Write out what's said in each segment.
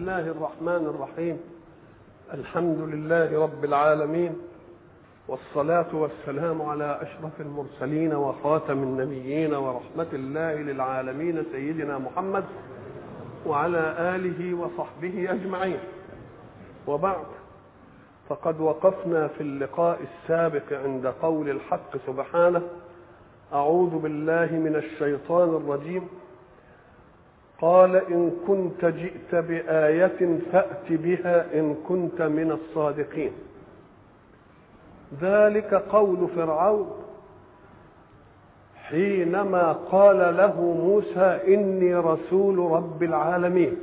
الله الرحمن الرحيم. الحمد لله رب العالمين، والصلاة والسلام على أشرف المرسلين وخاتم النبيين ورحمة الله للعالمين سيدنا محمد وعلى آله وصحبه أجمعين. وبعد، فقد وقفنا في اللقاء السابق عند قول الحق سبحانه: أعوذ بالله من الشيطان الرجيم. قال: إن كنت جئت بآية فأت بها إن كنت من الصادقين. ذلك قول فرعون حينما قال له موسى: إني رسول رب العالمين.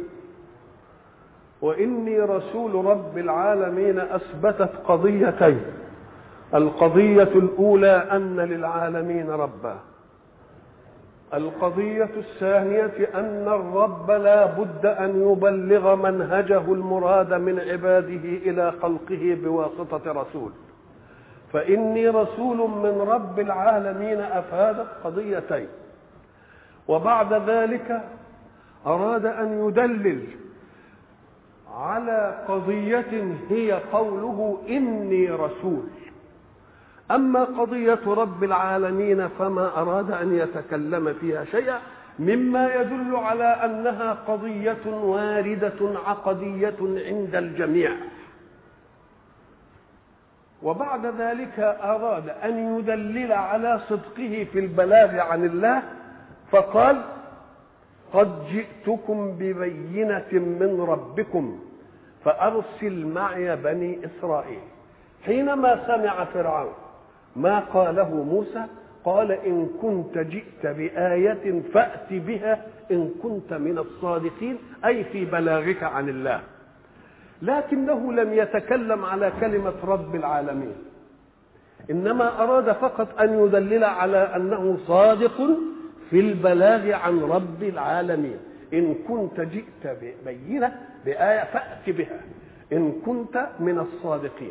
وإني رسول رب العالمين أثبتت قضيتين: القضية الأولى أن للعالمين ربا، القضية الثانية أن الرب لا بد أن يبلغ منهجه المراد من عباده إلى خلقه بواسطة رسول. فإني رسول من رب العالمين أفادت قضيتين. وبعد ذلك أراد أن يدلل على قضية هي قوله: إني رسول. أما قضية رب العالمين فما أراد أن يتكلم فيها شيئا، مما يدل على أنها قضية واردة عقدية عند الجميع. وبعد ذلك أراد أن يدلل على صدقه في البلاغ عن الله، فقال: قد جئتكم ببينة من ربكم فأرسل معي بني إسرائيل. حينما سمع فرعون ما قاله موسى قال: إن كنت جئت بآية فأت بها إن كنت من الصادقين، أي في بلاغك عن الله. لكنه لم يتكلم على كلمة رب العالمين، إنما أراد فقط أن يدلل على أنه صادق في البلاغ عن رب العالمين. إن كنت جئت ببينة بآية فأت بها إن كنت من الصادقين.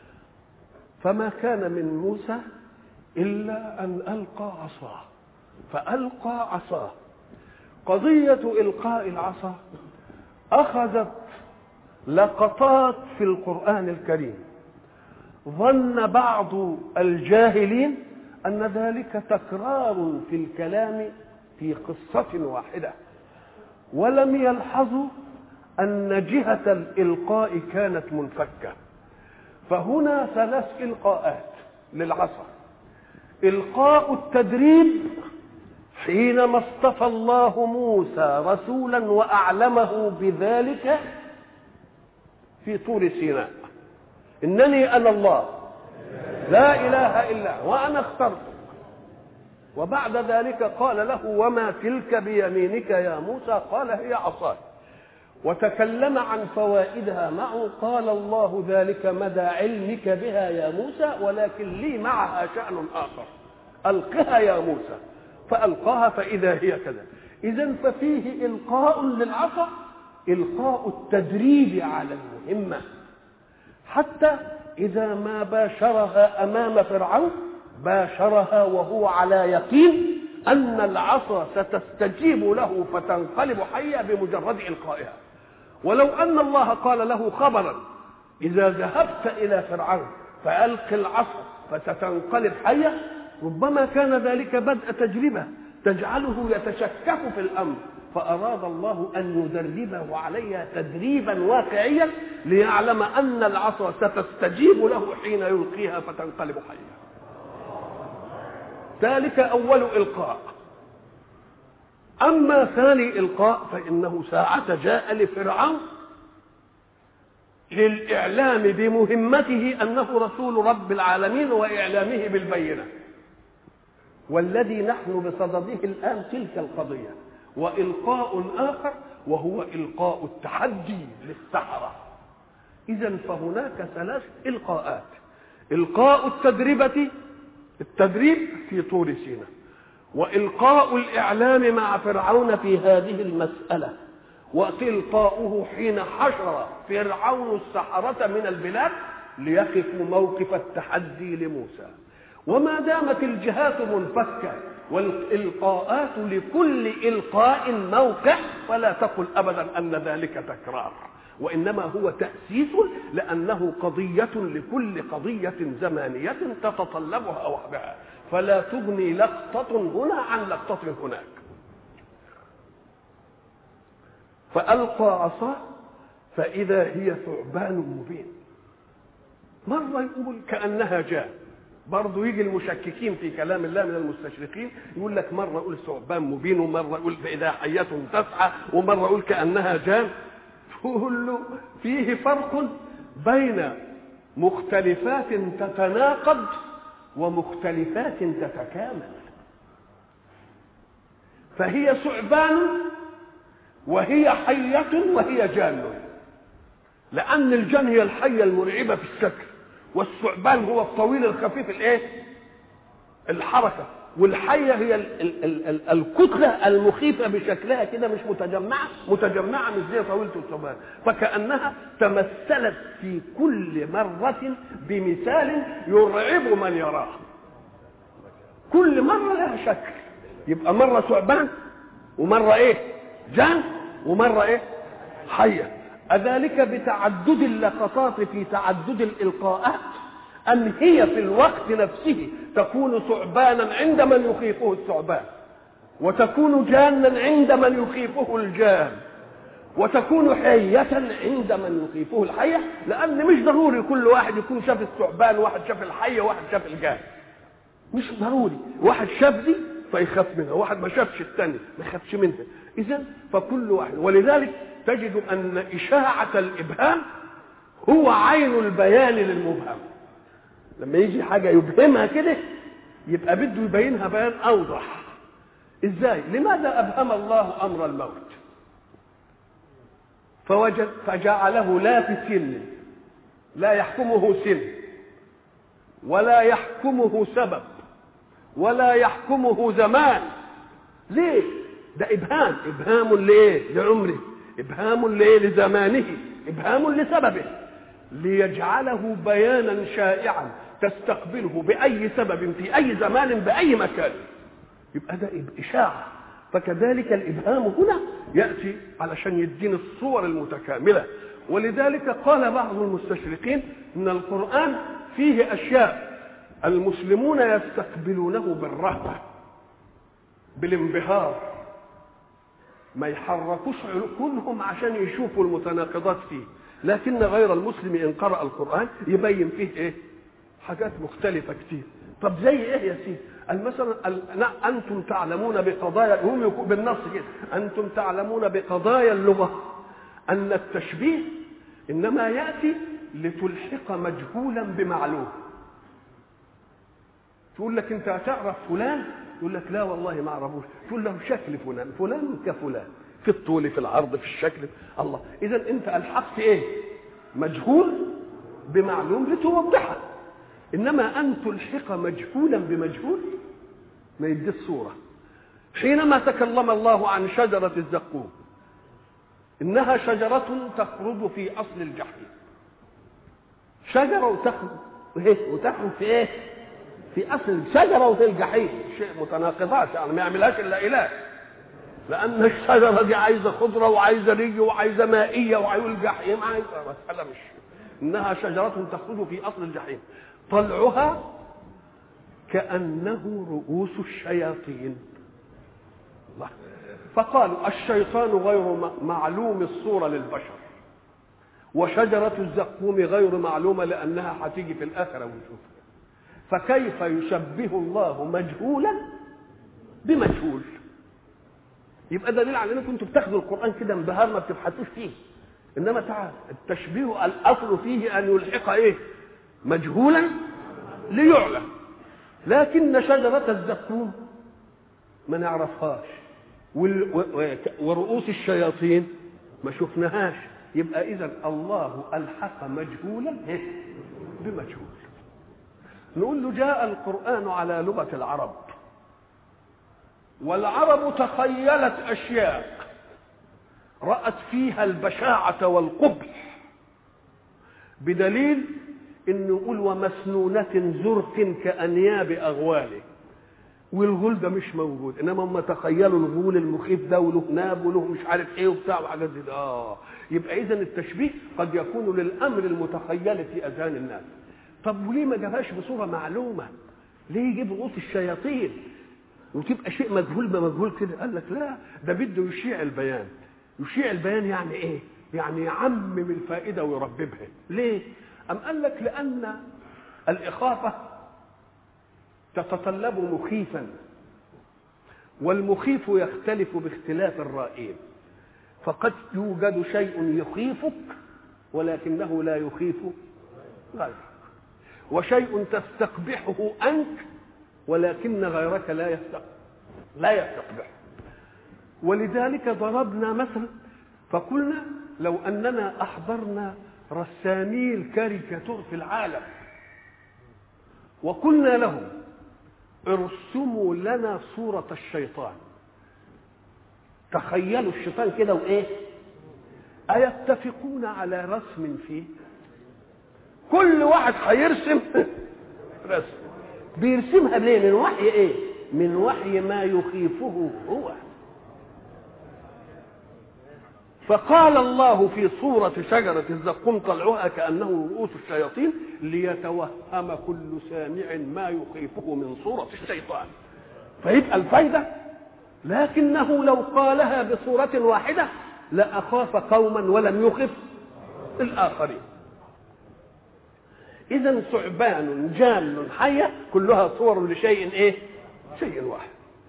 فما كان من موسى إلا أن ألقى عصاه، فألقى عصاه. قضية إلقاء العصا أخذت لقطات في القرآن الكريم. ظن بعض الجاهلين أن ذلك تكرار في الكلام في قصة واحدة، ولم يلحظوا أن جهة الإلقاء كانت منفكة. فهنا ثلاث إلقاءات للعصا: إلقاء التدريب حينما اصطفى الله موسى رسولا وأعلمه بذلك في طور سيناء: إنني أنا الله لا إله إلا وأنا اخترتك. وبعد ذلك قال له: وما تلك بيمينك يا موسى؟ قال: هي عصاي. وتكلم عن فوائدها معه. قال الله: ذلك مدى علمك بها يا موسى، ولكن لي معها شأن آخر، ألقها يا موسى. فألقاها فإذا هي كذا. إذن ففيه إلقاء للعصا، إلقاء التدريب على المهمة، حتى إذا ما باشرها أمام فرعون باشرها وهو على يقين أن العصا ستستجيب له فتنقلب حية بمجرد إلقائها. ولو أن الله قال له خبرا: إذا ذهبت إلى فرعون فألق العصا فستنقلب حية، ربما كان ذلك بدء تجربة تجعله يتشكك في الأمر. فأراد الله أن يدربه عليها تدريبا واقعيا ليعلم أن العصا ستستجيب له حين يلقيها فتنقلب حية. ذلك أول إلقاء. أما ثاني إلقاء فإنه ساعة جاء لفرعون للإعلام بمهمته أنه رسول رب العالمين وإعلامه بالبينة. والذي نحن بصدده الآن تلك القضية. وإلقاء آخر وهو إلقاء التحدي للسحرة. إذن فهناك ثلاث إلقاءات: إلقاء التدريب في طور سيناء، وإلقاء الإعلام مع فرعون في هذه المسألة، وإلقاؤه حين حشر فرعون السحرة من البلاد ليقفوا موقف التحدي لموسى. وما دامت الجهات منفكة والإلقاءات لكل إلقاء موقع، فلا تقل أبدا أن ذلك تكرار، وإنما هو تأسيس لأنه قضية لكل قضية زمانية تتطلبها وحدها، فلا تغني لقطة هنا عن لقطة هناك. فألقى عصاه فإذا هي ثعبان مبين. مرة يقول كأنها جان، برضه يجي المشككين في كلام الله من المستشرقين يقول لك مرة يقول ثعبان مبين، ومرة يقول فإذا حية تسعى، ومرة يقول كأنها جان. تقول له فيه فرق بين مختلفات تتناقض ومختلفات تتكامل. فهي ثعبان وهي حية وهي جان، لأن الجان هي الحية المرعبة في الشكل، والثعبان هو الطويل الخفيف الحركة، والحية هي الكتلة المخيفة بشكلها كده، مش متجمعة مش زي طويلة الثعبان. فكأنها تمثلت في كل مرة بمثال يرعب من يراه، كل مرة لها شكل. يبقى مرة ثعبان ومرة جان ومرة حية. أذلك بتعدد اللقطات في تعدد الإلقاءات أن هي في الوقت نفسه تكون ثعبانا عند من يخيفه الثعبان، وتكون جانا عند من يخيفه الجان، وتكون حية عند من يخيفه الحية، لأن مش ضروري كل واحد يكون شاف الثعبان، واحد شاف الحية، واحد شاف الجان، مش ضروري. واحد شاف دي فيخاف منها، واحد ما شافش الثاني ما يخافش منها. إذن فكل واحد، ولذلك تجد أن إشاعة الإبهام هو عين البيان للمبهم. لما يجي حاجة يبهمها كده يبقى بده يبينها بيان أوضح. إزاي؟ لماذا أبهم الله أمر الموت؟ فجعله لا في سن، لا يحكمه سن، ولا يحكمه سبب، ولا يحكمه زمان. ليه؟ ده إبهام لإيه؟ لعمره، إبهام لإيه؟ لزمانه، إبهام لسببه، ليجعله بيانا شائعا تستقبله بأي سبب في أي زمان بأي مكان. يبقى ده إشاعة. فكذلك الإبهام هنا يأتي علشان يدين الصور المتكاملة. ولذلك قال بعض المستشرقين إن القرآن فيه أشياء المسلمون يستقبلونه بالرهبة بالانبهار، ما يحركوش عقولهم عشان يشوفوا المتناقضات فيه، لكن غير المسلم إن قرأ القرآن يبين فيه حاجات مختلفة كتير. طب زي يا سيدي؟ مثلا أنتم تعلمون بقضايا، هم بالنص كده، أنتم تعلمون بقضايا اللغة أن التشبيه إنما يأتي لتلحق مجهولا بمعلوم. تقول لك أنت تعرف فلان، يقول لك لا والله ما أعرفوش، تقول له شكل فلان، فلان كفلان في الطول في العرض في الشكل. الله، إذا أنت ألحقت مجهول بمعلوم لتوضحه. إنما أن تلحق مجهولا بمجهول ما يدي الصورة. حينما تكلم الله عن شجرة الزقوم، إنها شجرة تخرج في أصل الجحيم، شجرة وتخرج في في أصل الشجرة وفي الجحيم، شيء متناقضات، يعني ما يعملهاش إلا إله، لأن الشجرة دي عايزة خضرة وعايزة ري وعايزة مائية وعايزة الجحيم عايزة مسألة مش. إنها شجرة تخرج في أصل الجحيم طلعها كأنه رؤوس الشياطين. الله. فقالوا الشيطان غير معلوم الصورة للبشر، وشجرة الزقوم غير معلومة لأنها هتيجي في الآخرة ونشوفها، فكيف يشبه الله مجهولا بمجهول؟ يبقى دليل على انكم انتم بتاخدوا القرآن كده انبهار ما بتبحثوش فيه. انما تعال التشبيه الاصل فيه ان يلحق مجهولا ليعلم، لكن شجرة الزقوم ما نعرفهاش، ورؤوس الشياطين ما شفناهاش. يبقى اذا الله الحق مجهولا بمجهول. نقول له جاء القرآن على لغة العرب، والعرب تخيلت أشياء رأت فيها البشاعة والقبح، بدليل إنه يقول ومسنونة زرق كأنياب أغواله. والغول ده مش موجود، انما هم تخيلوا الغول المخيف ده وله ناب وله مش عارف ايه وبتاع وحاجات دي. يبقى اذا التشبيه قد يكون للامر المتخيل في اذهان الناس. طب وليه ما جابهاش بصوره معلومه؟ ليه يجيب رؤوس الشياطين وتبقى شيء مجهول بمجهول كده؟ قال لك لا، ده بده يشيع البيان. يشيع البيان يعني ايه؟ يعني يعمم الفائده ويرببها. ليه؟ ام قال لك لان الاخافه تتطلب مخيفا، والمخيف يختلف باختلاف الرائين، فقد يوجد شيء يخيفك ولكنه لا يخيف غيرك، وشيء تستقبحه أنت ولكن غيرك لا يستقبحه. ولذلك ضربنا مثلا فقلنا لو أننا أحضرنا رسامي الكاريكاتور في العالم وقلنا لهم ارسموا لنا صورة الشيطان، تخيلوا الشيطان كده وإيه، أيتفقون على رسم فيه؟ كل واحد هيرسم رسم. بيرسمها ليه؟ من وحي ايه؟ من وحي ما يخيفه هو. فقال الله في صورة شجرة الزقوم طلعها كأنه رؤوس الشياطين ليتوهم كل سامع ما يخيفه من صورة الشيطان. فيبقى الفايدة، لكنه لو قالها بصورة واحدة لأخاف قوما ولم يخف الآخرين. إذن ثعبان جان حية كلها صور لشيء إيه؟ شيء واحد.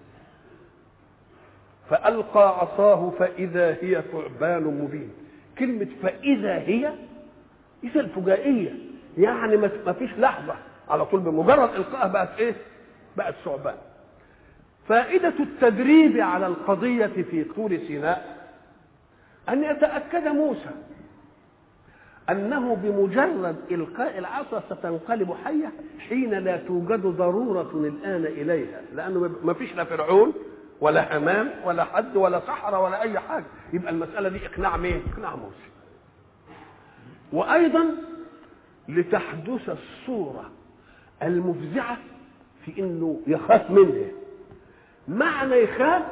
فألقى عصاه فإذا هي ثعبان مبين. كلمة فإذا هي إذا الفجائية، يعني ما فيش لحظة، على طول بمجرد إلقائها بقت إيه؟ بقت ثعبان. فائدة التدريب على القضية في طور سيناء أن يتأكد موسى أنه بمجرد إلقاء العصا ستنقلب حية حين لا توجد ضرورة الآن إليها، لأنه ما فيش لا فرعون ولا هامان ولا حد ولا سحرة ولا أي حاجة. يبقى المسألة دي إقناع مين؟ إقناع موسى. وأيضا لتحدث الصورة المفزعة في إنه يخاف منها. معنى يخاف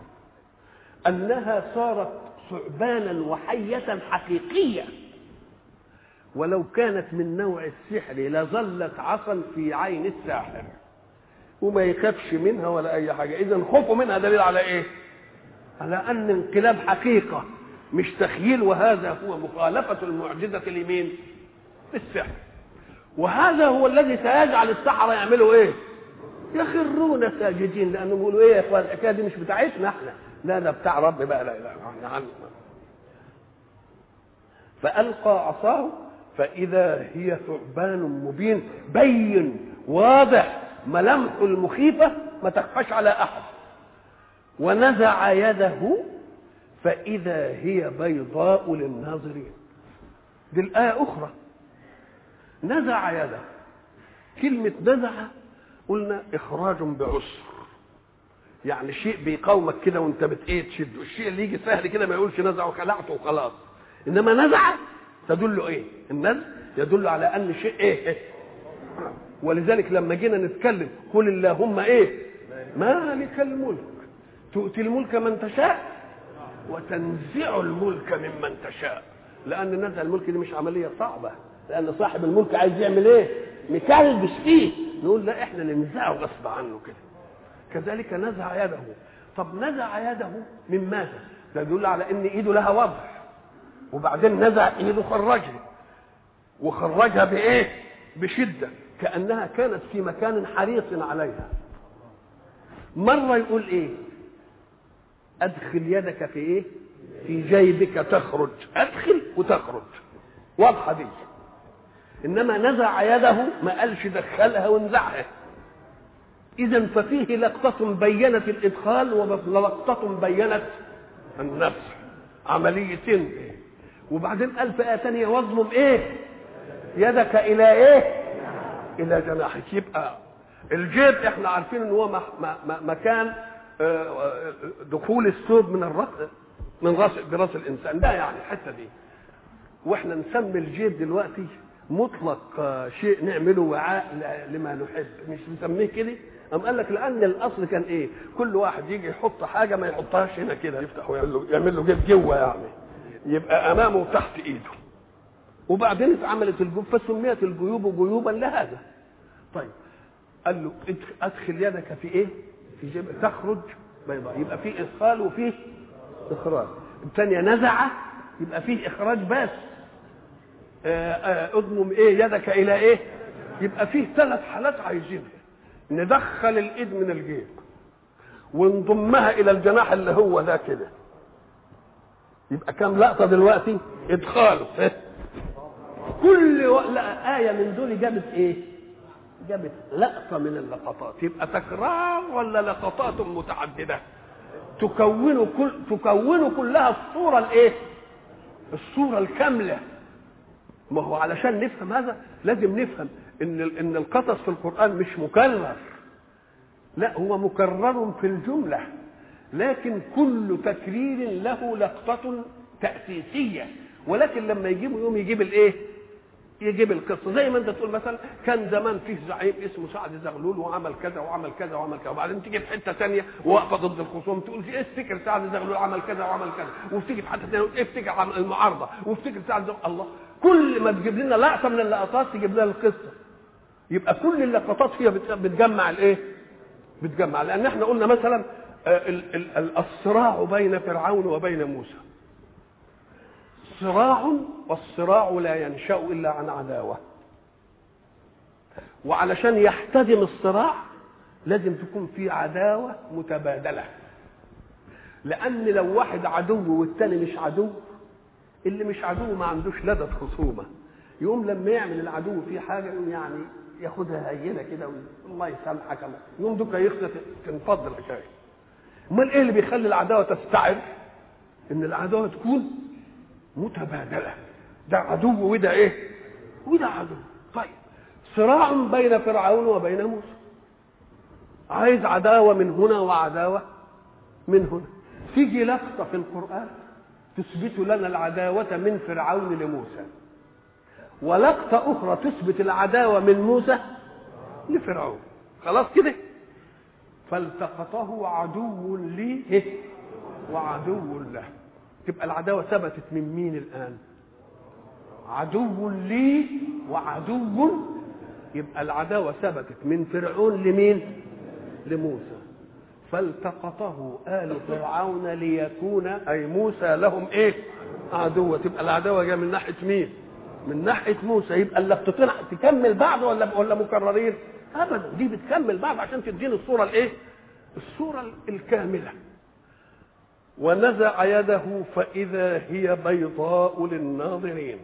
أنها صارت ثعبانا وحية حقيقية، ولو كانت من نوع السحر لظلت عصا في عين الساحر وما يخافش منها ولا أي حاجة. إذن خوفه منها دليل على إيه؟ على أن انقلاب حقيقة مش تخيل، وهذا هو مخالفة المعجزة لمين؟ السحر. وهذا هو الذي سيجعل السحرة يعملوا إيه؟ يخرون ساجدين، لأنه يقولوا إيه يا إخوان الحكاية دي مش بتاعتنا إحنا، لا ده بتاع رب بقى، لا لا إحنا عنه. فألقى عصاه فإذا هي ثعبان مبين، بين واضح، ملامحه المخيفة ما تخفاش على أحد. ونزع يده فإذا هي بيضاء للناظرين. دي الآية أخرى. نزع يده، كلمة نزع قلنا إخراج بعسر، يعني شيء بيقاومك كده وانت تشده. الشيء اللي يجي سهل كده ما يقولش نزع وخلعته وخلاص، إنما نزع تدل إيه؟ النزع يدل على أن شيء إيه؟ ولذلك لما جينا نتكلم قل اللهم إيه؟ مالك الملك تؤتي الملك من تشاء وتنزع الملك ممن تشاء. لأن نزع الملك دي مش عملية صعبة، لأن صاحب الملك عايز يعمل إيه؟ مكلبس فيه، نقول لا إحنا ننزعه غصب عنه كده. كذلك نزع يده. طب نزع يده من ماذا؟ ده يدل على إن إيده لها وضع، وبعدين نزع إيده خرجها، وخرجها بإيه؟ بشدة، كأنها كانت في مكان حريص عليها. مرة يقول إيه؟ أدخل يدك في إيه؟ في جيبك تخرج، أدخل وتخرج، واضحة دي. إنما نزع يده ما قالش دخلها وانزعها. إذن ففيه لقطة بينت الإدخال ولقطة بينت النزع، عمليتين. وبعدين قال في آية ثانية واضمم إيه؟ يدك إلى إيه؟ إلى جناحك. يبقى الجيب إحنا عارفين إن هو مكان دخول الثوب من راس الإنسان ده، يعني الحتة دي. وإحنا نسمي الجيب دلوقتي مطلق شيء نعمله وعاء لما نحب، مش نسميه كده. قام قال لك لان الاصل كان ايه؟ كل واحد يجي يحط حاجه ما يحطهاش هنا كده، يفتح ويعمل له جيب جوه يعني، يبقى امامه وتحت ايده. وبعدين اتعملت الجيوب فسميت الجيوب جيوبا لهذا. طيب قال له ادخل يدك في ايه؟ في جيب تخرج بيضاء، يبقى فيه ادخال وفيه اخراج. الثانيه نزع يبقى فيه اخراج بس. اضمم ايه يدك الى ايه؟ يبقى فيه 3 حالات عايزينها، ندخل الايد من الجيب ونضمها الى الجناح اللي هو ده كده، يبقى كام لقطه دلوقتي؟ ادخاله. كل آية من دول جابت ايه؟ جابت لقطه من اللقطات. يبقى تكرار ولا لقطات متعدده تكون كلها الصوره الايه؟ الصوره الكامله. ما هو علشان نفهم هذا لازم نفهم ان القصص في القرآن مش مكرر، لا هو مكرر في الجملة، لكن كل تكرير له لقطة تأسيسية. ولكن لما يجيبوا يوم يجيب الايه؟ يجيب القصة. زي ما انت تقول مثلا كان زمان فيه زعيم اسمه سعد زغلول وعمل كذا وعمل كذا وعمل كذا، وبعدين تيجي في حته ثانيه واقفه ضد الخصوم تقول ايه افتكر سعد زغلول عمل كذا وعمل كذا، وفتيجي في حته ثانيه افتكر عن المعارضه وافتكر سعد زغلول. الله، كل ما تجيب لنا لقطه من اللقطات تجيب لنا القصه. يبقى كل اللقطات فيها بتجمع الايه؟ بتجمع. لان احنا قلنا مثلا الصراع بين فرعون وبين موسى صراع، والصراع لا ينشأ إلا عن عداوة. وعلشان يحتدم الصراع لازم تكون في عداوة متبادلة، لأن لو واحد عدو والتاني مش عدو، اللي مش عدو ما عندوش لدى خصومة، يقوم لما يعمل العدو فيه حاجة يقوم يعني ياخدها هينة كده الله يسامحك الله، يقوم دوكا يخلص تنفض الحكاية. امال ايه اللي بيخلي العداوة تستعر؟ ان العداوة تكون متبادلة، ده عدو وده ايه؟ وده عدو. طيب صراع بين فرعون وبين موسى، عايز عداوة من هنا وعداوة من هنا. تيجي لقطة في القرآن تثبت لنا العداوة من فرعون لموسى، ولقطة أخرى تثبت العداوة من موسى لفرعون. خلاص كده؟ فالتقطه عدو لي وعدو له. تبقى العداوة ثبتت من مين الآن؟ عدو لي وعدو. يبقى العداوة ثبتت من فرعون لمين؟ لموسى. فالتقطه آل فرعون ليكون أي موسى لهم إيه؟ عدوة. تبقى العداوة جاية من ناحية مين؟ من ناحية موسى. يبقى اللقطتين تكمل بعض ولا مكررين؟ أبدا، دي بتكمل بعض عشان تديني الصورة الإيه؟ الصورة الكاملة. ونزع يده فإذا هي بيضاء للناظرين.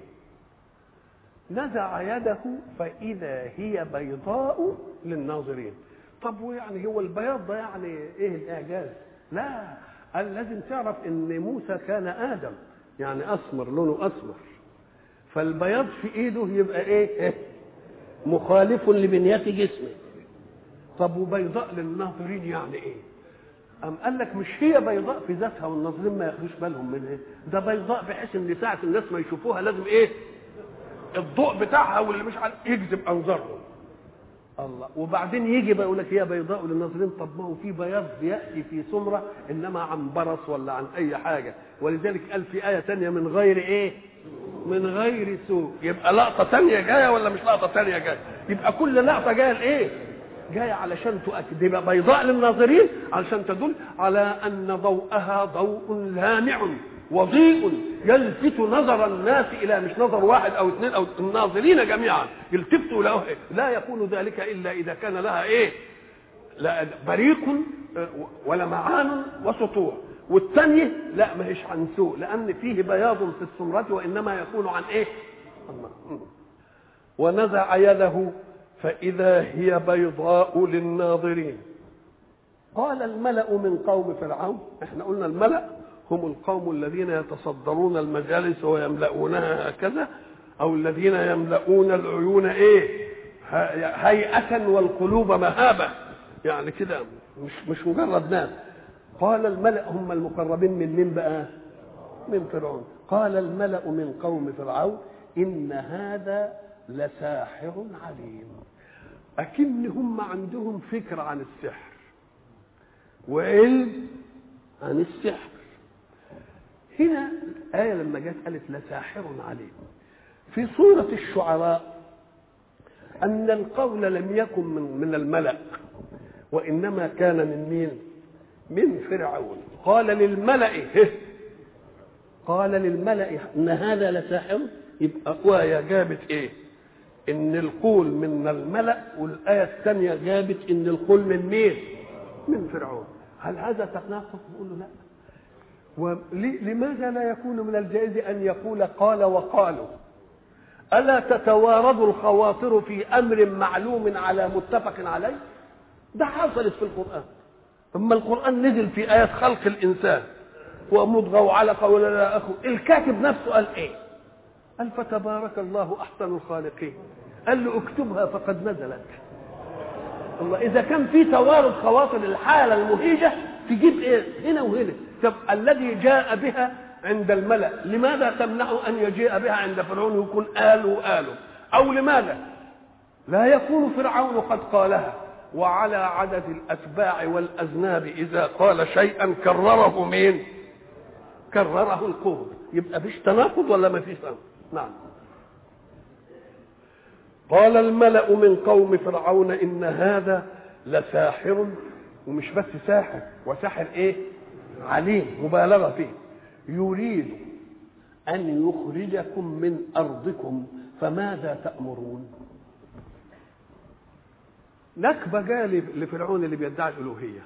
نزع يده فإذا هي بيضاء للناظرين. طب ويعني هو البياض ده يعني ايه الاعجاز؟ لا، قال لازم تعرف ان موسى كان ادم، يعني اسمر، لونه اسمر، فالبياض في ايده يبقى ايه؟ مخالف لبنية جسمه. طب وبيضاء للناظرين يعني ايه؟ أم قال لك مش هي بيضاء في ذاتها والناظرين ما ياخدوش بالهم منها، ده بيضاء بحيث ان ساعة الناس ما يشوفوها لازم ايه؟ الضوء بتاعها واللي مش عارف يجذب انظارهم. الله. وبعدين يجي بقى يقول لك هي بيضاء للناظرين. طب ما هو في بياض بياتي في سمره انما عن برص ولا عن اي حاجه، ولذلك قال في ايه ثانيه من غير ايه؟ من غير سوء. يبقى لقطه ثانيه جايه ولا مش لقطه ثانيه جايه؟ يبقى كل لقطه جايه لايه؟ جايه علشان تؤكد. يبقى بيضاء للناظرين علشان تدل على ان ضوءها ضوء لامع وضيء يلفت نظر الناس الى مش نظر واحد او اثنين او الناظرين جميعا يلتفتوا له. لا يكون ذلك الا اذا كان لها ايه؟ لا بريق ولمعان وسطوع. والثانيه لا ما هيش عن سوء، لان فيه بياض في السمرة وانما يكون عن ايه؟ الله. ونزع يده فاذا هي بيضاء للناظرين. قال الملأ من قوم فرعون، احنا قلنا الملأ هم القوم الذين يتصدرون المجالس ويملؤونها هكذا، او الذين يملؤون العيون ايه؟ هيئة والقلوب مهابة، يعني كده مش مجرد ناس. قال الملأ هم المقربين من بقى؟ من فرعون. قال الملأ من قوم فرعون إن هذا لساحر عليم. أكن هم عندهم فكرة عن السحر وعلم عن السحر. هنا الآية لما جت قالت لساحر عليم. في سورة الشعراء أن القول لم يكن من الملأ، وإنما كان من مين؟ من فرعون. قال للملأ إن هذا لساحر. يبقى آية جابت إيه؟ إن القول من الملأ، والآية الثانية جابت إن القول من مين؟ من فرعون. هل هذا تناقض؟ نقول له لا. ولماذا لا يكون من الجائز أن يقول قال وقالوا؟ ألا تتوارد الخواطر في أمر معلوم على متفق عليه؟ ده حصلت في القرآن. أما القرآن نزل في آيات خلق الإنسان ومضغة وعلقة ولا لا أخو، الكاتب نفسه قال إيه؟ قال فتبارك الله أحسن الخالقين. قال له اكتبها فقد نزلت. الله، إذا كان في توارد خواطر الحالة المهيجة تجيب إيه؟ هنا وهنا. طب الذي جاء بها عند الملأ لماذا تمنع أن يجيء بها عند فرعون ويكون قالوا؟ أو لماذا لا يكون فرعون قد قالها؟ وعلى عدد الأتباع والأذناب إذا قال شيئا كرره مين؟ كرره القوم. يبقى فيش تناقض ولا ما فيش تناقض؟ نعم. قال الملأ من قوم فرعون إن هذا لساحر، ومش بس ساحر، وساحر إيه؟ عليم، مبالغة فيه. يريد أن يخرجكم من أرضكم فماذا تأمرون؟ نكبة جالي لفرعون اللي بيدعي الألوهية،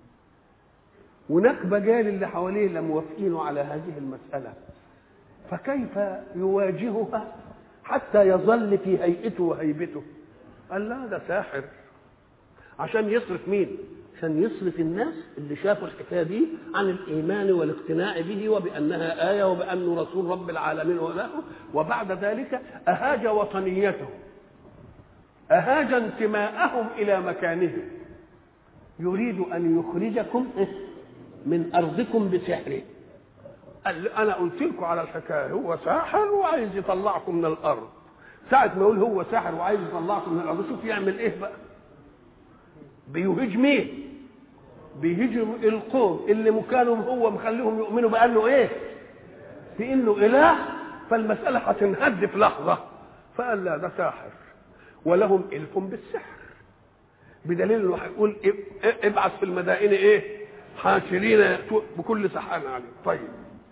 ونكبة جالي اللي حواليه اللي موافقينه على هذه المسألة، فكيف يواجهها حتى يظل في هيئته وهيبته؟ قال لا، ده ساحر. عشان يصرف مين؟ عشان يصرف الناس اللي شافوا الحكايه دي عن الايمان والاقتناع به وبانها ايه وبانه رسول رب العالمين وله. وبعد ذلك اهاج وطنيته، اهاج انتماءهم الى مكانهم. يريد ان يخرجكم من ارضكم بسحره. قال انا قلت لكم على الحكايه، هو ساحر وعايز يطلعكم من الارض. ساعه ما يقول هو ساحر وعايز يطلعكم من الارض، شوف يعمل ايه بقى؟ بيهج مين؟ بيهجم القوم اللي مكانهم هو مخليهم يؤمنوا بانه ايه؟ بانه اله. فالمساله هتنهد في لحظه. فقال لا، ده ساحر ولهم الف بالسحر، بدليل انه هيقول ابعث في المدائن ايه؟ حاشرين بكل سحار عليم. طيب،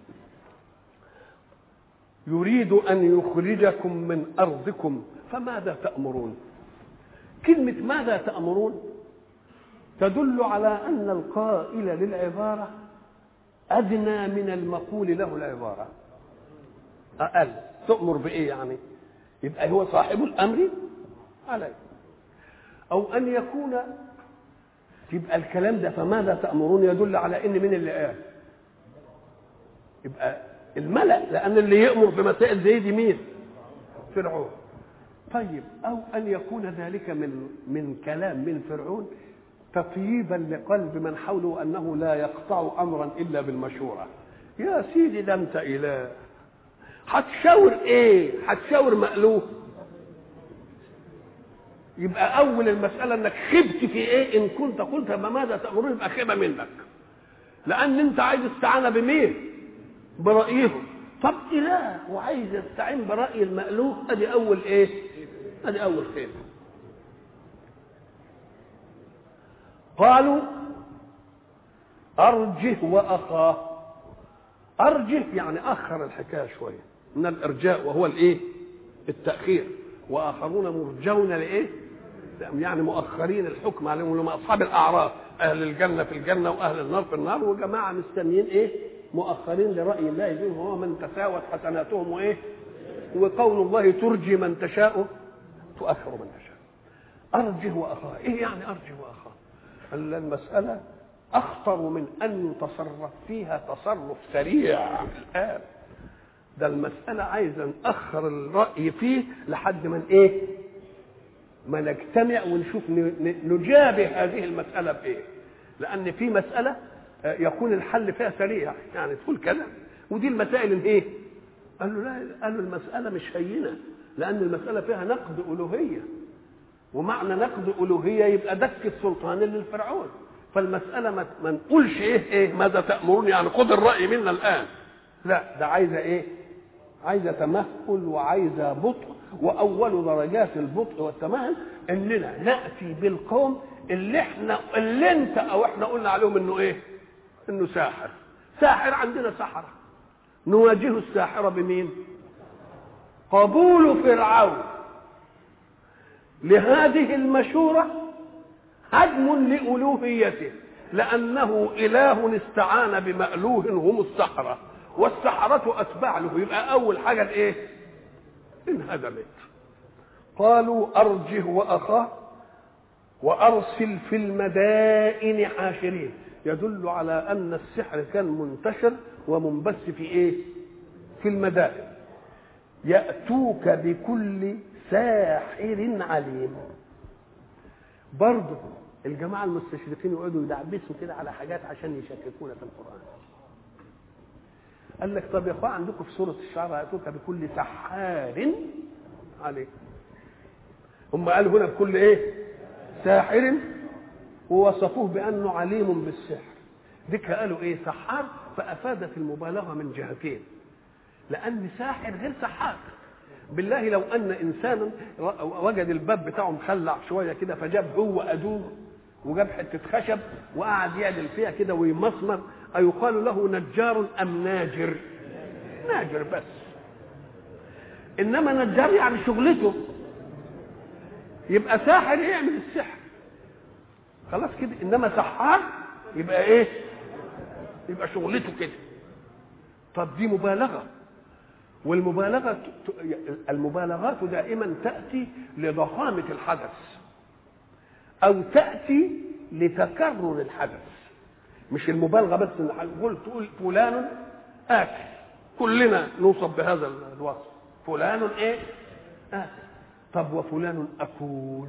يريد ان يخرجكم من ارضكم فماذا تأمرون؟ كلمه ماذا تأمرون تدل على أن القائل للعبارة أدنى من المقول له العبارة، أقل. تؤمر بإيه يعني؟ يبقى هو صاحب الأمر عليه. أو أن يكون يبقى الكلام ده فماذا تأمرون يدل على إن من اللي قال؟ يبقى الملأ، لأن اللي يأمر بمسائل زي دي مين؟ فرعون. طيب، أو أن يكون ذلك من كلام من فرعون تطييبا لقلب من حوله أنه لا يقطع أمرا إلا بالمشورة. يا سيدي ده أنت إله، هتشاور إيه؟ هتشاور مألوف. يبقى أول المسألة أنك خبت في إيه؟ إن كنت قلت ماذا تأمرون يبقى خيبة منك، لأن أنت عايز استعانة بمين؟ برأيهم. طب إله وعايز يستعين برأي المألوف، أدي أول إيه؟ أدي أول خيبة. قالوا أرجه وأخاه. أرجه يعني أخر الحكاية شوية، من الإرجاء وهو الإيه؟ التأخير. وآخرون مرجون لإيه؟ يعني مؤخرين الحكم عليهم، لما أصحاب الأعراف، أهل الجنة في الجنة وأهل النار في النار، وجماعة مستنيين إيه؟ مؤخرين لرأي الله فيهم، هو من تساوت حسناتهم وإيه؟ وقول الله ترجي من تشاء تؤخر من تشاء. أرجه وأخاه. إيه يعني أرجه وأخاه؟ المسألة أخطر من أن يتصرف فيها تصرف سريع الآن. ده المسألة عايزة نأخر الرأي فيه لحد من إيه؟ ما نجتمع ونشوف نجابه هذه المسألة بإيه. لأن في مسألة يكون الحل فيها سريع، يعني تقول كذا، ودي المسائل إيه؟ قال له لا، قال له المسألة مش هينة، لأن المسألة فيها نقد ألوهية. ومعنى نقض ألوهية يبقى دك السلطان للفرعون. فالمسألة ما نقولش ايه ماذا تأمرون يعني خذ الرأي منا الآن، لا، ده عايزة ايه؟ عايزة تمهل وعايزة بطء. وأول درجات البطء والتمهل إننا نأتي بالقوم اللي انت او احنا قلنا عليهم انه ايه؟ انه ساحر. عندنا سحرة، نواجه الساحرة بمين؟ قبول فرعون لهذه المشورة هدم لألوهيته، لأنه إله استعان بمألوه هم السحرة، والسحرة أتباع له. يبقى أول حاجة الإيه؟ انهدمت. قالوا أرجه وأخاه وأرسل في المدائن حاشرين، يدل على أن السحر كان منتشر ومنبث في إيه؟ في المدائن. يأتوك بكل ساحر عليم. برضه الجماعة المستشرقين يقعدوا يدعبسوا كده على حاجات عشان يشككونا في القرآن. قال لك طب يا اخوان عندكم في سورة الشعراء يأتوك بكل سحار عليم. هم قالوا هنا بكل ايه؟ ساحر، ووصفوه بأنه عليم بالسحر. ذيك قالوا ايه؟ سحار، فأفادت المبالغة من جهتين، لأن ساحر غير سحار. بالله لو أن إنسانا وجد الباب بتاعه مخلع شوية كده فجاب هو أدوه وجاب حتة خشب وقعد يعدل فيها كده ويمسمر، أيقال له نجار أم ناجر؟ ناجر بس. إنما نجار يعني شغلته، يبقى ساحر يعمل السحر خلاص كده. إنما سحار يبقى إيه؟ يبقى شغلته كده. طب دي مبالغة، المبالغات دائما تأتي لضخامة الحدث أو تأتي لتكرر الحدث. مش المبالغة بس إن تقول فلان آكل، كلنا نوصف بهذا الوصف، فلان إيه؟ آكل. طب وفلان أكول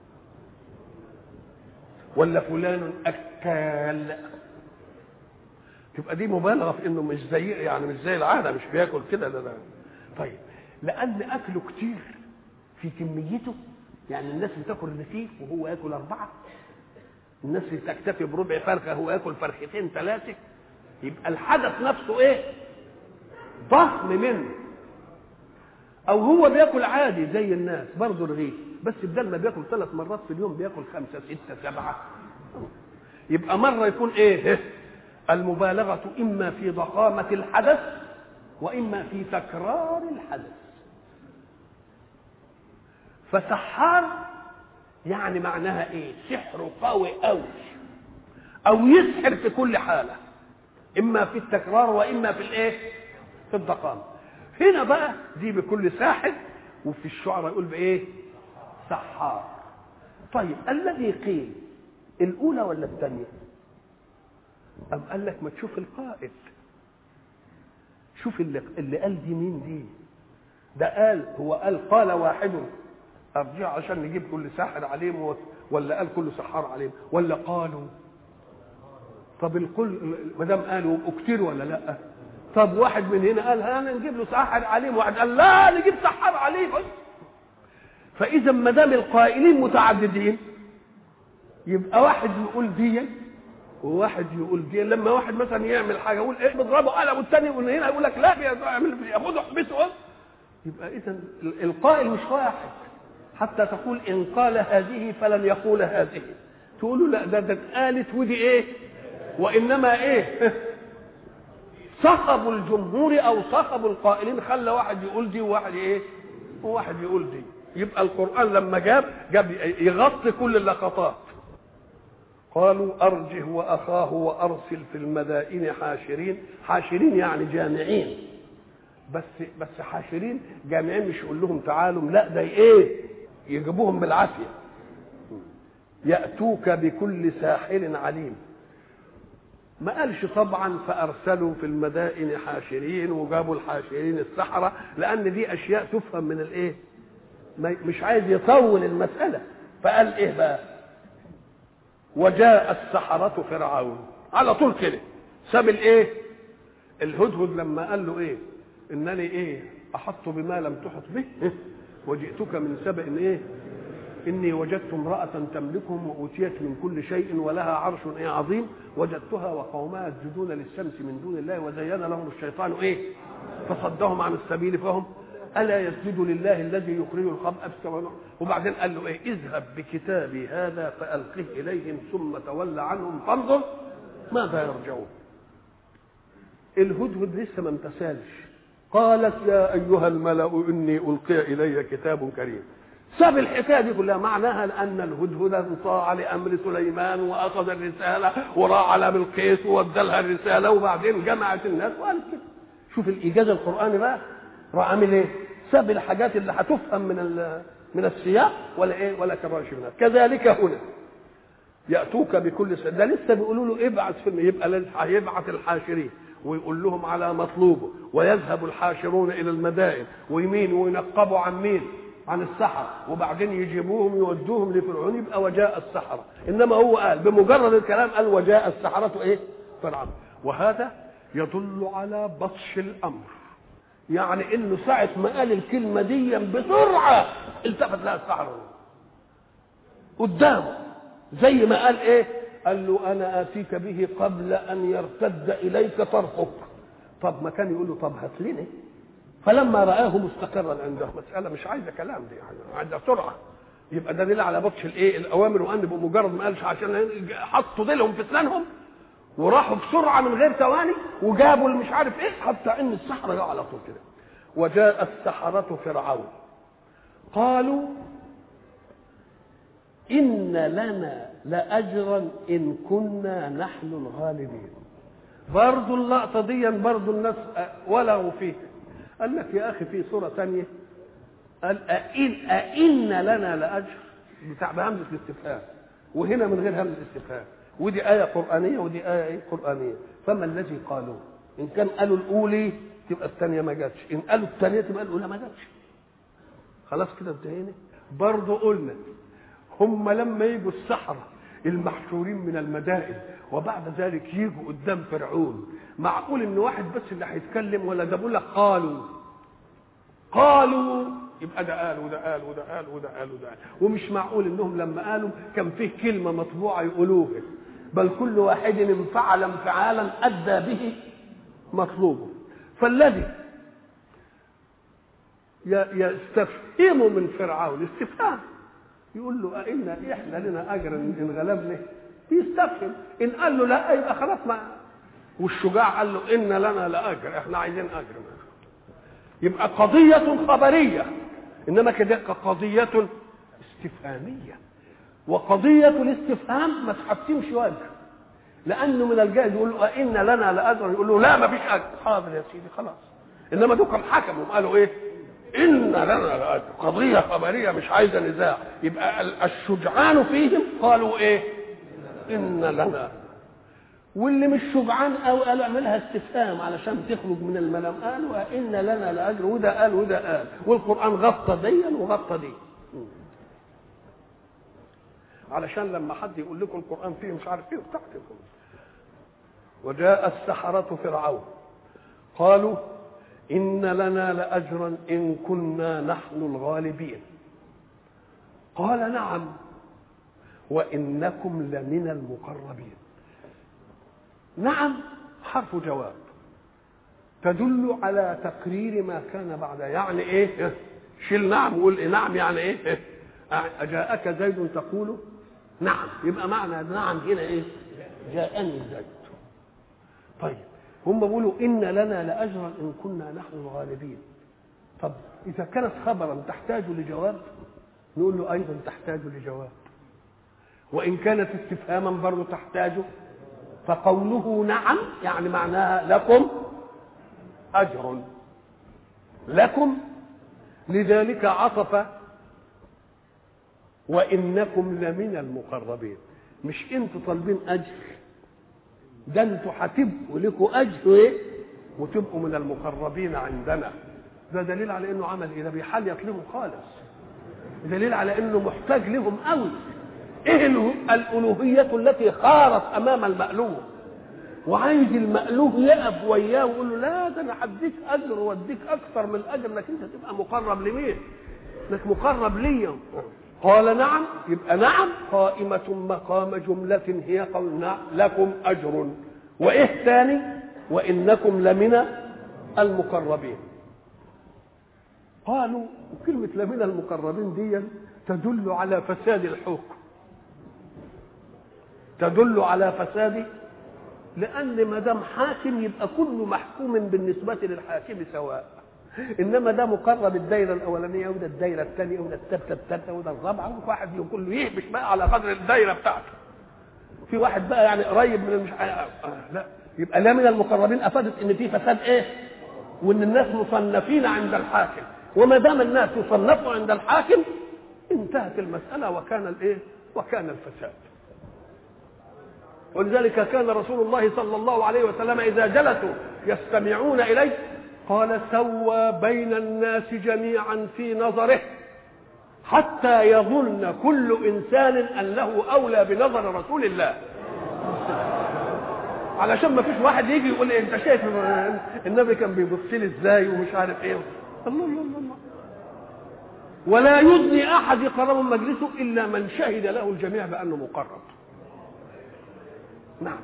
ولا فلان أكال؟ تبقى دي مبالغه في انه مش زي يعني مش زي العاده، مش بياكل كده لا. طيب لان اكله كتير في كميته، يعني الناس بتاكل رغيف وهو ياكل 4، الناس تكتفي بربع فرخه هو ياكل فرختين 3، يبقى الحدث نفسه ايه؟ ضخم منه. او هو بياكل عادي زي الناس برضه رغيف، بس بدل ما بياكل 3 مرات في اليوم بياكل 5 6 7. يبقى مره يكون ايه؟ المبالغة إما في ضخامة الحدث وإما في تكرار الحدث. فسحار يعني معناها إيه؟ سحر قوي أوي، أو يسحر في كل حالة، إما في التكرار وإما في الإيه؟ في الضخامة. هنا بقى دي بكل ساحر، وفي الشعراء يقول بإيه؟ سحار. طيب الذي قيل الأولى ولا الثانية؟ أم قال لك ما تشوف القائد، شوف اللي قال دي مين دي. ده قال هو قال واحد ارجع عشان نجيب كل ساحر عليم، ولا قال كل سحار عليم، ولا قالوا؟ طب الكل ما دام قالوا كتير ولا لا؟ طب واحد من هنا قال انا نجيب له ساحر عليم، واحد قال لا نجيب سحار عليم. فاذا ما دام القائلين متعددين يبقى واحد يقول دي وواحد يقول دي. لما واحد مثلا يعمل حاجه يقول ايه بضربه قلم، والثاني من هنا يقول لك لا ياخده حبسه، يبقى اذا القائل مش واحد. حتى تقول ان قال هذه فلن يقول هذه، تقولوا لا ده اتقالت ودي ايه، وانما ايه صخب الجمهور او صخب القائلين خلى واحد يقول دي وواحد ايه وواحد يقول دي. يبقى القرآن لما جاب يغطي كل اللقطات. قالوا أرجه وأخاه وأرسل في المدائن حاشرين. حاشرين يعني جامعين، بس حاشرين جامعين، مش يقول لهم تعالوا، لا ده ايه يجيبوهم بالعافية. يأتوك بكل ساحر عليم. ما قالش طبعا فأرسلوا في المدائن حاشرين وجابوا الحاشرين السحرة، لأن دي أشياء تفهم من الايه، مش عايز يطول المسألة. فقال ايه بقى؟ وجاء السحرة فرعون على طول كده. ساب الايه؟ الهدهد لما قال له ايه؟ انني ايه احط بما لم تحط به وجئتك من سبأ ايه إني وجدت امرأة تملكهم وأوتيت من كل شيء ولها عرش عظيم وجدتها وقومها يسجدون للشمس من دون الله وزين لهم الشيطان فصدهم عن السبيل فهم ألا يسجدوا لله الذي يخرج الخبء. وبعدين قال له اذهب بكتابي هذا فألقه إليهم ثم تولى عنهم فانظر ماذا يرجعون. الهدهد لسه ما امتثلش. قالت يا أيها الملأ إني ألقي إلي كتاب كريم. ساب الحكايه دي كلها معناها ان الهدهد انطاع لامر سليمان واخذ الرساله وراح على بلقيس وادالها الرساله وبعدين جمعت الناس وقال كده. شوف الايجاز القراني بقى راح عامل ايه؟ ساب الحاجات اللي هتفهم من السياق ولا كراش منها. كذلك هنا ياتوك بكل ده لسه بيقولوا له ابعث يبقى هيبعث الحاشرين ويقول لهم على مطلوبه ويذهب الحاشرون الى المدائن ويمين وينقبوا عن مين؟ عن السحرة وبعدين يجيبوهم يودوهم لفرعون يبقى وجاء السحرة. انما هو قال بمجرد الكلام قال وجاء السحرة فرعون. وهذا يدل على بطش الامر، يعني انه ساعة ما قال الكلمة دي بسرعة التفت لها السحرة قدامه زي ما قال قال له انا اتيك به قبل ان يرتد اليك طرفك. طب ما كان يقول له طب هات لنا. فلما رآه مستقرا عنده مسألة مش عايزة كلام دي عايزة سرعة. يبقى ده دليل على بطش الأوامر وأن بمجرد ما قالش عشان حطوا ديلهم في اسنانهم وراحوا بسرعة من غير ثواني وجابوا مش عارف حتى إن السحرة جاء على طول كده. وجاء السحرة فرعون قالوا إن لنا لأجرا إن كنا نحن الغالبين. برضو اللقطة دي برضو الناس ولغوا فيه. قال لك يا أخي في سورة ثانية قال أئن لنا لأجر بهمزة الاستفهام وهنا من غير همزة الاستفهام. ودي آية قرآنية ودي آية قرآنية. فما الذي قالوا؟ إن كان قالوا الأولى تبقى الثانية ما جاتش، إن قالوا الثانية تبقى الأولى ما جاتش. خلاص كده انتهينا. برضه قلنا هم لما يجوا السحرة المحشورين من المدائن وبعد ذلك يجوا قدام فرعون معقول ان واحد بس اللي هيتكلم ولا ده بيقول لك قالوا يبقى ده قال وده قال وده قال وده قال وده قال. ومش معقول انهم لما قالوا كان فيه كلمه مطبوعه يقولوها بل كل واحد انفعل انفعالا ادى به مطلوبه. فالذي يستفهم من فرعون استفهام يقول له احنا لنا اجر ان غلبنا يستفهم. ان قال له لا يبقى خلاص ما. والشجاع قال له ان لنا لاجر احنا عايزين اجر. يبقى قضيه خبريه انما كده قضيه استفهاميه. وقضيه الاستفهام ما تحتمش وجه لانه من الجائز يقول له ان لنا لاجر يقول له لا ما فيش اجر. حاضر يا سيدي خلاص. انما دول كانوا حكموا قالوا ان لنا لاجر قضيه خبريه مش عايزه نزاع. يبقى الشجعان فيهم قالوا ان لنا. واللي مش شجعان قالوا اعملها استفهام علشان تخرج من الملام قالوا ان لنا لاجر وده قال وده قال. والقران غطى دي وغطى دي علشان لما حد يقول لكم القران فيه مش عارف ايه وتحتكم. وجاء السحرة فرعون قالوا إن لنا لأجرا إن كنا نحن الغالبين. قال نعم وإنكم لمن المقربين. نعم حرف جواب تدل على تقرير ما كان بعد. يعني شيل نعم وقول نعم يعني أجاءك زيد تقول نعم يبقى معنى نعم هنا جاءني زيد. طيب هم بيقولوا إن لنا لأجرا إن كنا نحن الغالبين. طب إذا كانت خبرا تحتاج لجواب نقول له أيضا تحتاج لجواب. وإن كانت استفهاما برضو تحتاج. فقوله نعم يعني معناها لكم أجر لكم. لذلك عطف وإنكم لمن المقربين. مش انتوا طالبين أجر ده انتوا هتبقوا لكم اجر وتبقوا من المقربين عندنا. ده دليل على انه عمل ده بيحليط لهم خالص. دليل على انه محتاج لهم قوي. الالوهيه التي خارت امام المألوه وعايز المألوه يقف وياه ويقول له لا ده انا هديك اجر واديك اكثر من الاجر انك انت تبقى مقرب لمين؟ انك مقرب ليا. قال نعم، يبقى نعم قائمة مقام جملة هي قول لكم أجر. وإيه تاني؟ وإنكم لمن المقربين. قالوا كلمة لمن المقربين دي تدل على فساد الحكم، تدل على فساد، لأن ما دام حاكم يبقى كل محكوم بالنسبة للحاكم سواء، إنما ده مقرب الدايرة الأولانية وده الدايرة الثانية وده الثالثة وده الرابعة، وواحد كله يهبش بقى على قدر الدايرة بتاعته. في واحد بقى يعني قريب من مش لا، يبقى لا من المقربين أفادت إن في فساد إيه؟ وإن الناس مصنفين عند الحاكم، وما دام الناس يصنفوا عند الحاكم انتهت المسألة وكان الإيه؟ وكان الفساد. ولذلك كان رسول الله صلى الله عليه وسلم إذا جلسوا يستمعون إليه قال سوى بين الناس جميعا في نظره حتى يظن كل إنسان أنه أولى بنظر رسول الله، علشان ما فيش واحد يجي يقول انت شايف النبي كان بيبص لي ازاي ومش عارف ايه. الله الله الله. ولا يدني احد يقرب من مجلسه الا من شهد له الجميع بانه مقرب. نعم.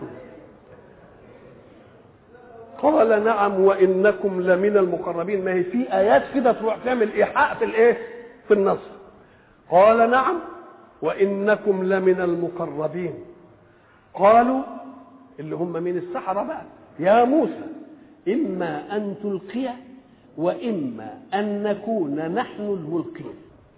قال نعم وانكم لمن المقربين. ما هي في ايات كده تروح تعمل ايحاء في الايه؟ في النص. قال نعم وانكم لمن المقربين. قالوا اللي هم من السحرة بقى يا موسى إما أن تلقي وإما أن نكون نحن الملقين.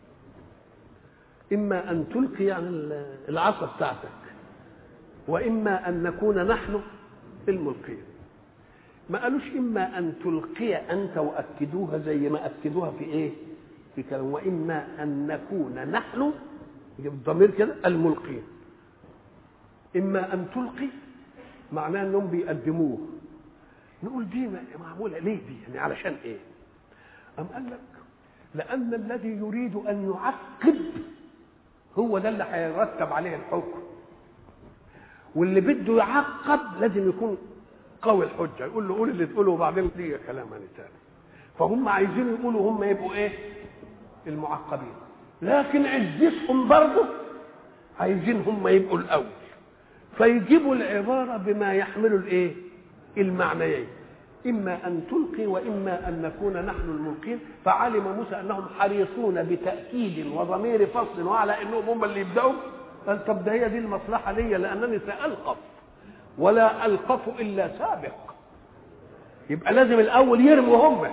إما أن تلقي يعني العصا بتاعتك، وإما أن نكون نحن الملقين. ما قالوش إما أن تلقي أنت وأكدوها زي ما أكدوها في إيه؟ في كلام وإما أن نكون نحن الضمير كده الملقين. إما أن تلقي معناه انهم بيقدموه. نقول دي معموله ليه دي؟ يعني علشان ايه؟ أم قال لك لأن الذي يريد أن يعقب هو ده اللي هيرتب عليه الحكم، واللي بده يعقب لازم يكون قوي الحجه، يقول له قول اللي تقوله وبعدين دي كلام تاني. فهم عايزين يقولوا هم يبقوا ايه؟ المعقبين، لكن عزتهم برضه عايزين هم يبقوا الاول، فيجيبوا العبارة بما يحمل الايه؟ المعنيين، إما أن تلقي وإما أن نكون نحن الملقين. فعلم موسى أنهم حريصون بتأكيد وضمير فصل وعلى أنهم هم اللي يبدأوا. قال طب ده هي دي المصلحة لي، لأنني سألقف ولا ألقف إلا سابق، يبقى لازم الأول يرموا هم.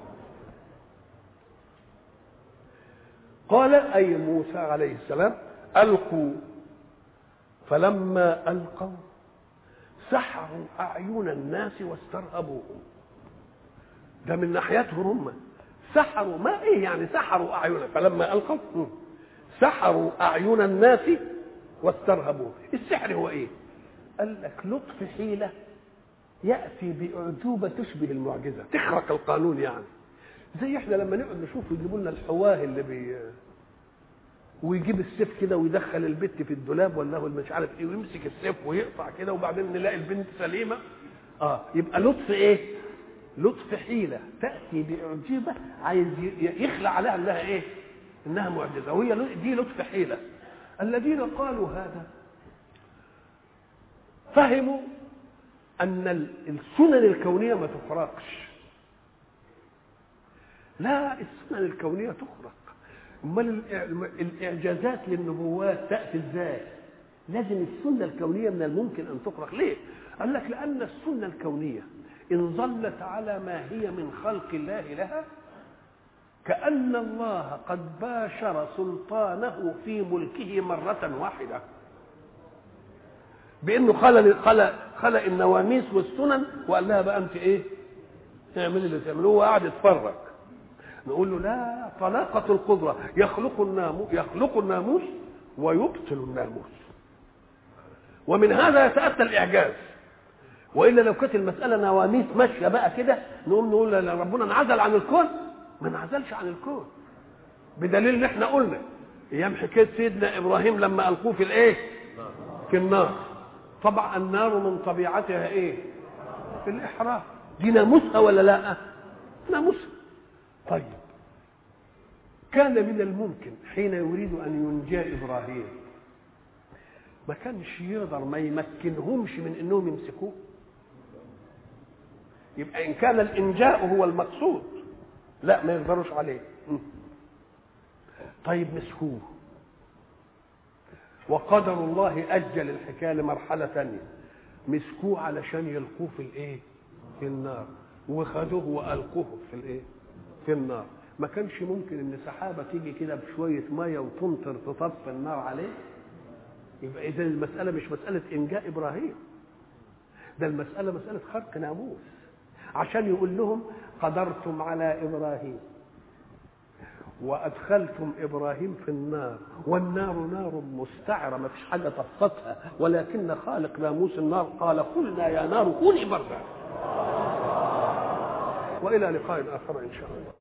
قال أي موسى عليه السلام ألقوا، فلما ألقوا سحروا أعين الناس واسترهبوهم. ده من ناحيتهم هم سحروا، ما إيه يعني سحروا أعينهم؟ فلما ألقوا سحروا أعين الناس واسترهبوهم. السحر هو إيه؟ قال لك لطف حيلة يأتي بأعجوبة تشبه المعجزة، تخرق القانون. يعني زي إحنا لما نقعد نشوف يجيبوا لنا الحواه اللي ويجيب السيف كده ويدخل البت في الدولاب ولا هو مش عارف ايه، ويمسك السيف ويقطع كده وبعدين نلاقي البنت سليمه. يبقى لطف ايه؟ لطف حيله تاتي باعجوبه عايز يخلع عليها انها ايه؟ انها معجزه، وهي دي لطف حيله. الذين قالوا هذا فهموا ان السنن الكونيه ما تفرقش. لا، السنن الكونيه تخرق. امال الاعجازات للنبوات تاتي ازاي؟ لازم السنه الكونيه من الممكن ان تخرق. ليه؟ قال لك لان السنه الكونيه ان ظلت على ما هي من خلق الله لها كأن الله قد باشر سلطانه في ملكه مرة واحدة، بانه خلق النواميس والسنن وقال لها بقى انت ايه؟ اعملي اللي تعملوه، وقعد يتفرج. نقول له لا، طلاقة القدرة يخلق الناموس ويبطل الناموس، ومن هذا يتأتى الإعجاز. وإلا لو كانت المسألة نواميس ماشية بقى كده نقول ربنا انعزل عن الكون. ما انعزلش عن الكون، بدليل ان احنا قلنا ايام حكاية سيدنا إبراهيم لما ألقوه في الايه؟ في النار. طبعا النار من طبيعتها ايه؟ في الإحراق. دي ناموسها ولا لا؟ ناموسها. طيب كان من الممكن حين يريد أن ينجى إبراهيم ما كانش يقدر ما يمكنهمش من أنهم يمسكوه. يبقى إن كان الإنجاء هو المقصود لا ما يقدروش عليه. طيب مسكوه، وقدر الله أجل الحكاية لمرحلة ثانية، مسكوه علشان يلقوه في الإيه؟ في النار، وخدوه وألقوه في الإيه؟ في النار. ما كانش ممكن ان سحابه تيجي كده بشويه ميه وتمطر تطفي النار عليه؟ يبقى اذا المساله مش مساله انجاء ابراهيم، ده المساله مساله خرق ناموس، عشان يقول لهم قدرتم على ابراهيم وادخلتم ابراهيم في النار، والنار نار مستعره ما فيش حاجه طفتها، ولكن خالق ناموس النار قال قلنا يا نار كوني بردا. والى لقاء اخر ان شاء الله.